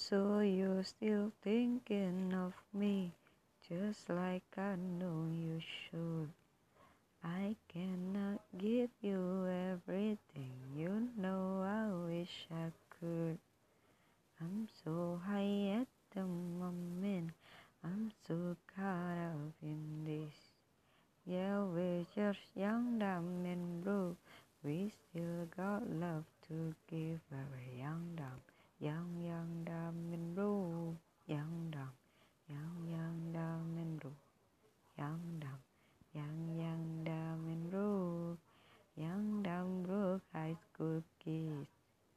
So you're still thinking of me, just like I know you should. I cannot give you everything, you know I wish I could. I'm so high at the moment, I'm so caught up in this. Yeah, we're just young, dumb and blue. We still got love to give. We're young, dumb and blue.